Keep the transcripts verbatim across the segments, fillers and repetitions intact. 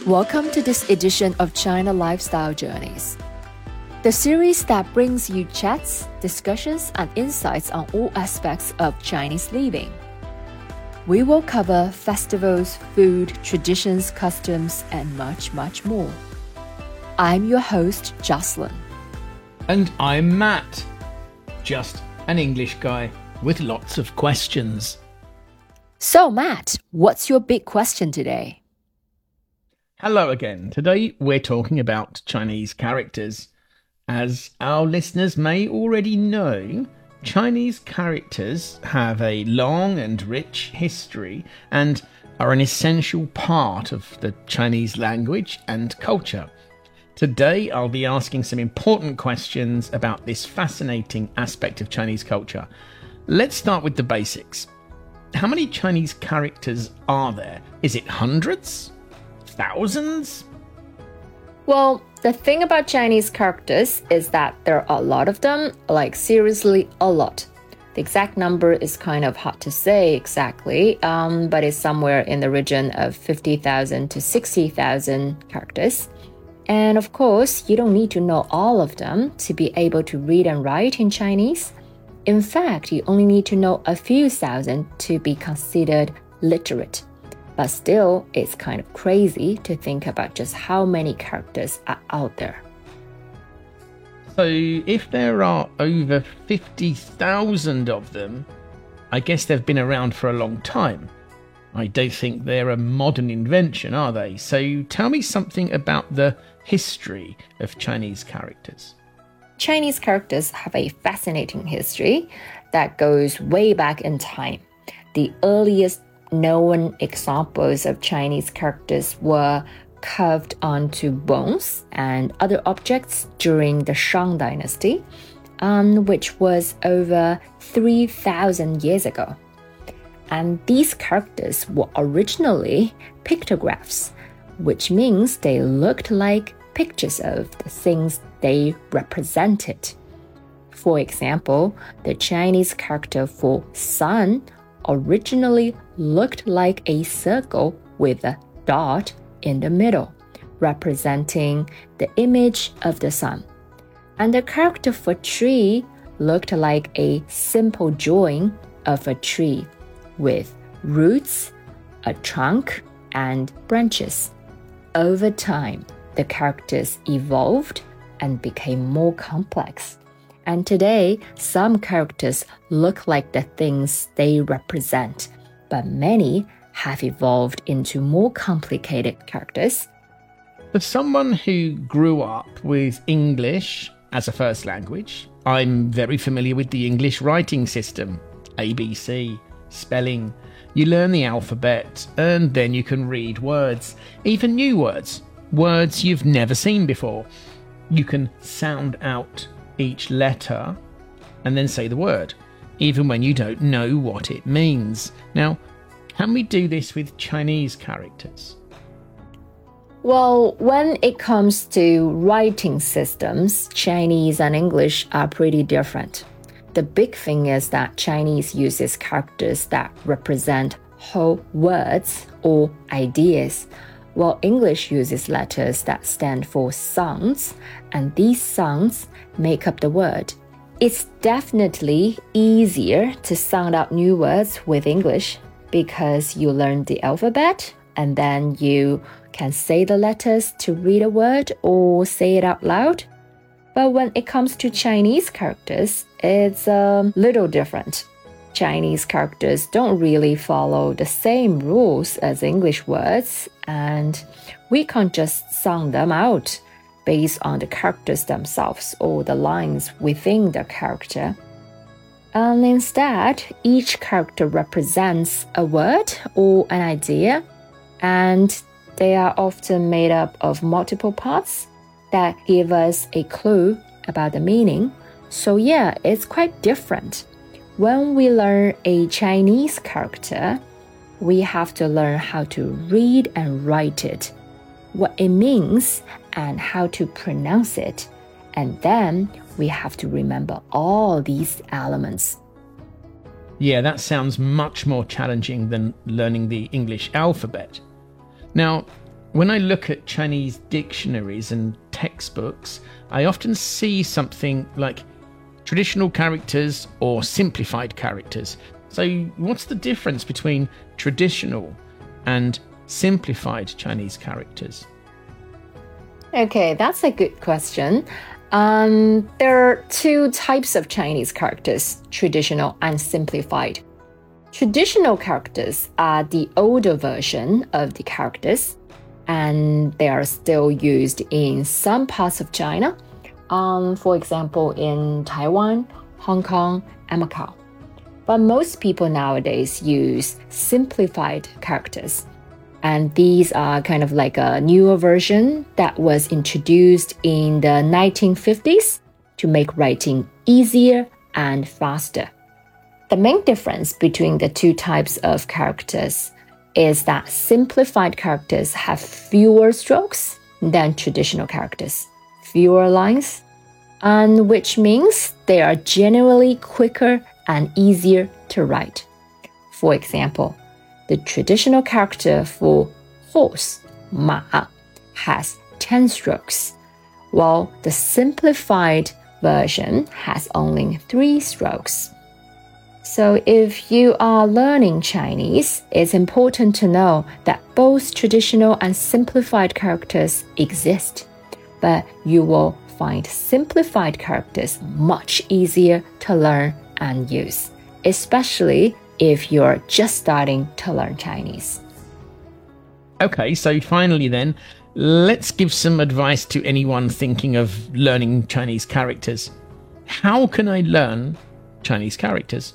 Welcome to this edition of China Lifestyle Journeys, the series that brings you chats, discussions, and insights on all aspects of Chinese living. We will cover festivals, food, traditions, customs, and much, much more. I'm your host, Jocelyn. And I'm Matt, just an English guy with lots of questions. So, Matt, what's your big question today? Hello again. Today we're talking about Chinese characters. As our listeners may already know, Chinese characters have a long and rich history and are an essential part of the Chinese language and culture. Today I'll be asking some important questions about this fascinating aspect of Chinese culture. Let's start with the basics. How many Chinese characters are there? Is it hundreds? Thousands? Well, the thing about Chinese characters is that there are a lot of them, like seriously a lot. The exact number is kind of hard to say exactly, um, but it's somewhere in the region of fifty thousand to sixty thousand characters. And of course, you don't need to know all of them to be able to read and write in Chinese. In fact, you only need to know a few thousand to be considered literate. But still, it's kind of crazy to think about just how many characters are out there. So if there are over fifty thousand of them, I guess they've been around for a long time. I don't think they're a modern invention, are they? So tell me something about the history of Chinese characters. Chinese characters have a fascinating history that goes way back in time. The earliest known examples of Chinese characters were carved onto bones and other objects during the Shang Dynasty, um, which was over three thousand years ago. And these characters were originally pictographs, which means they looked like pictures of the things they represented. For example, the Chinese character for sun originally looked like a circle with a dot in the middle, representing the image of the sun. And the character for tree looked like a simple drawing of a tree with roots, a trunk, and branches. Over time, the characters evolved and became more complex. And today, some characters look like the things they represent, but many have evolved into more complicated characters. For someone who grew up with English as a first language, I'm very familiar with the English writing system, A B C, spelling. You learn the alphabet, and then you can read words, even new words, words you've never seen before. You can sound out each letter and then say the word, even when you don't know what it means. Now, can we do this with Chinese characters? Well, when it comes to writing systems, Chinese and English are pretty different. The big thing is that Chinese uses characters that represent whole words or ideas, while English uses letters that stand for sounds, and these sounds make up the word. It's definitely easier to sound out new words with English because you learn the alphabet and then you can say the letters to read a word or say it out loud. But when it comes to Chinese characters, it's a little different. Chinese characters don't really follow the same rules as English words, and we can't just sound them out based on the characters themselves or the lines within the character. And instead, each character represents a word or an idea, and they are often made up of multiple parts that give us a clue about the meaning. So yeah, it's quite different. When we learn a Chinese character, we have to learn how to read and write it, what it means, and how to pronounce it. And then we have to remember all these elements. Yeah, that sounds much more challenging than learning the English alphabet. Now, when I look at Chinese dictionaries and textbooks, I often see something like traditional characters or simplified characters. So what's the difference between traditional and simplified Chinese characters? Okay, that's a good question. Um, there are two types of Chinese characters, traditional and simplified. Traditional characters are the older version of the characters, and they are still used in some parts of China, um, for example, in Taiwan, Hong Kong, and Macau. But most people nowadays use simplified characters. And these are kind of like a newer version that was introduced in the nineteen fifties to make writing easier and faster. The main difference between the two types of characters is that simplified characters have fewer strokes than traditional characters, fewer lines, and which means they are generally quicker and easier to write. For example, the traditional character for horse, 马, has ten strokes, while the simplified version has only three strokes. So if you are learning Chinese, it's important to know that both traditional and simplified characters exist, but you will find simplified characters much easier to learn and use, especially if you're just starting to learn Chinese. Okay, so finally then, let's give some advice to anyone thinking of learning Chinese characters. How can I learn Chinese characters?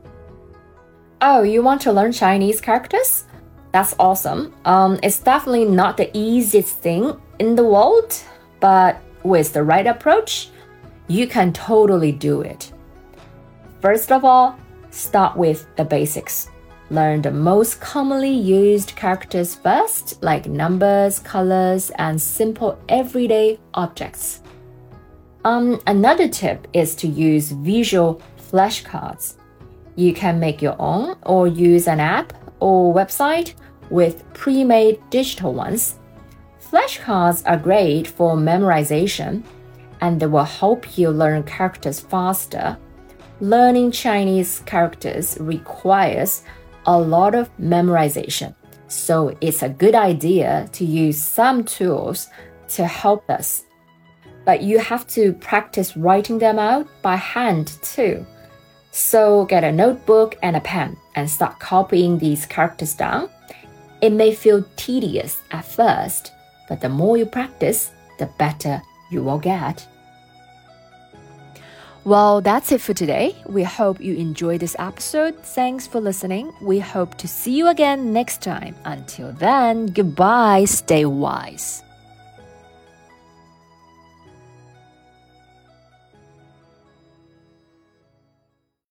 Oh, you want to learn Chinese characters? That's awesome. Um, it's definitely not the easiest thing in the world, but with the right approach, you can totally do it. First of all, start with the basics. Learn the most commonly used characters first, like numbers, colors, and simple everyday objects. Um, another tip is to use visual flashcards. You can make your own or use an app or website with pre-made digital ones. Flashcards are great for memorization, and they will help you learn characters faster. Learning Chinese characters requires a lot of memorization, so it's a good idea to use some tools to help us. But you have to practice writing them out by hand too. So get a notebook and a pen and start copying these characters down. It may feel tedious at first, but the more you practice, the better you will get. Well, that's it for today. We hope you enjoyed this episode. Thanks for listening. We hope to see you again next time. Until then, goodbye. Stay wise.